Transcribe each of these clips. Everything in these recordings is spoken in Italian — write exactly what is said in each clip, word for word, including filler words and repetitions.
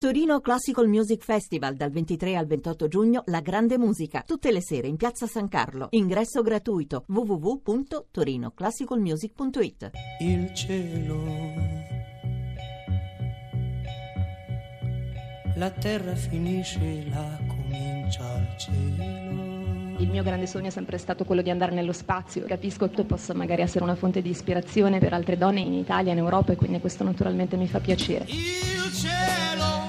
Torino Classical Music Festival dal ventitré al ventotto giugno, la grande musica, tutte le sere in Piazza San Carlo. Ingresso gratuito w w w punto torino classical music punto i t. Il cielo, la terra finisce, la comincia il cielo. Il mio grande sogno è sempre stato quello di andare nello spazio. Capisco che possa magari essere una fonte di ispirazione per altre donne in Italia, in Europa, e quindi questo naturalmente mi fa piacere. Il cielo,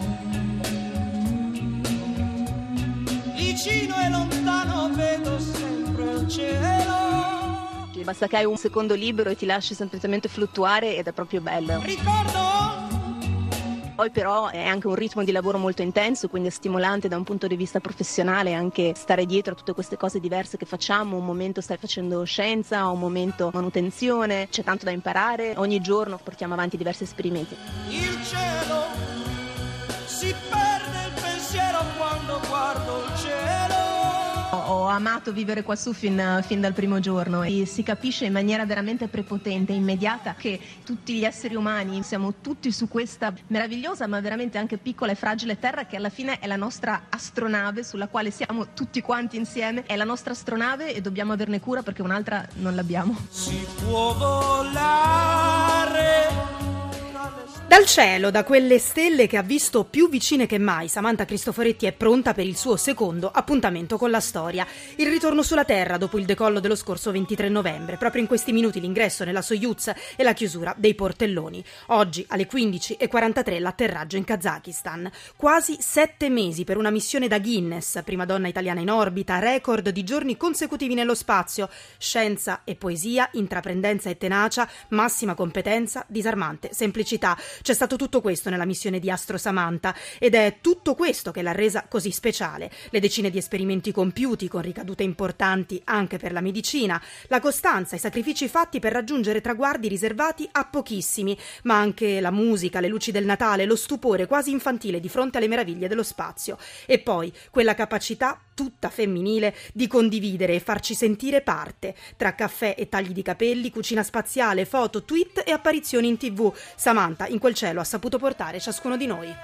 vicino e lontano vedo sempre il cielo. Basta che hai un secondo libero e ti lasci semplicemente fluttuare ed è proprio bello. Ricordo. Poi però è anche un ritmo di lavoro molto intenso, quindi è stimolante da un punto di vista professionale anche stare dietro a tutte queste cose diverse che facciamo. Un momento stai facendo scienza, un momento manutenzione, c'è tanto da imparare, ogni giorno portiamo avanti diversi esperimenti. Il cielo si perde il pensiero quando guardo il cielo. Ho amato vivere quassù fin, fin dal primo giorno e si capisce in maniera veramente prepotente, immediata, che tutti gli esseri umani siamo tutti su questa meravigliosa ma veramente anche piccola e fragile terra che alla fine è la nostra astronave sulla quale siamo tutti quanti insieme. È la nostra astronave e dobbiamo averne cura perché un'altra non l'abbiamo. Si può volare. Dal cielo, da quelle stelle che ha visto più vicine che mai, Samantha Cristoforetti è pronta per il suo secondo appuntamento con la storia. Il ritorno sulla Terra dopo il decollo dello scorso ventitré novembre. Proprio in questi minuti l'ingresso nella Soyuz e la chiusura dei portelloni. Oggi alle quindici e quarantatré l'atterraggio in Kazakistan. Quasi sette mesi per una missione da Guinness, prima donna italiana in orbita, record di giorni consecutivi nello spazio, scienza e poesia, intraprendenza e tenacia, massima competenza, disarmante semplicità. C'è stato tutto questo nella missione di Astro Samantha ed è tutto questo che l'ha resa così speciale. Le decine di esperimenti compiuti con ricadute importanti anche per la medicina, la costanza, i sacrifici fatti per raggiungere traguardi riservati a pochissimi, ma anche la musica, le luci del Natale, lo stupore quasi infantile di fronte alle meraviglie dello spazio. E poi quella capacità tutta femminile di condividere e farci sentire parte. Tra caffè e tagli di capelli, cucina spaziale, foto, tweet e apparizioni in tv, Samantha in quel cielo ha saputo portare ciascuno di noi.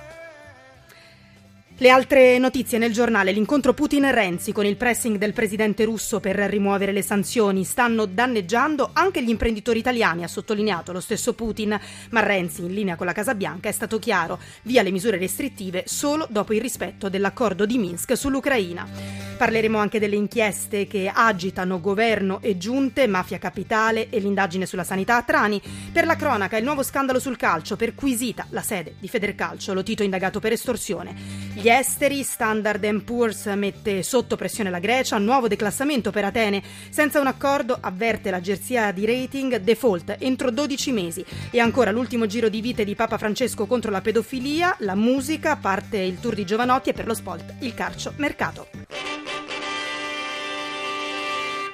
Le altre notizie nel giornale: l'incontro Putin-Renzi con il pressing del presidente russo per rimuovere le sanzioni stanno danneggiando anche gli imprenditori italiani, ha sottolineato lo stesso Putin, ma Renzi, in linea con la Casa Bianca, è stato chiaro: via le misure restrittive solo dopo il rispetto dell'accordo di Minsk sull'Ucraina. Parleremo anche delle inchieste che agitano governo e giunte, mafia capitale e l'indagine sulla sanità a Trani. Per la cronaca il nuovo scandalo sul calcio, perquisita la sede di Federcalcio, lo Tito indagato per estorsione. Gli esteri, Standard and Poor's mette sotto pressione la Grecia, nuovo declassamento per Atene. Senza un accordo, avverte l'agenzia di rating, default entro dodici mesi. E ancora l'ultimo giro di vite di Papa Francesco contro la pedofilia, la musica, parte il tour di Giovanotti e per lo sport il calcio mercato.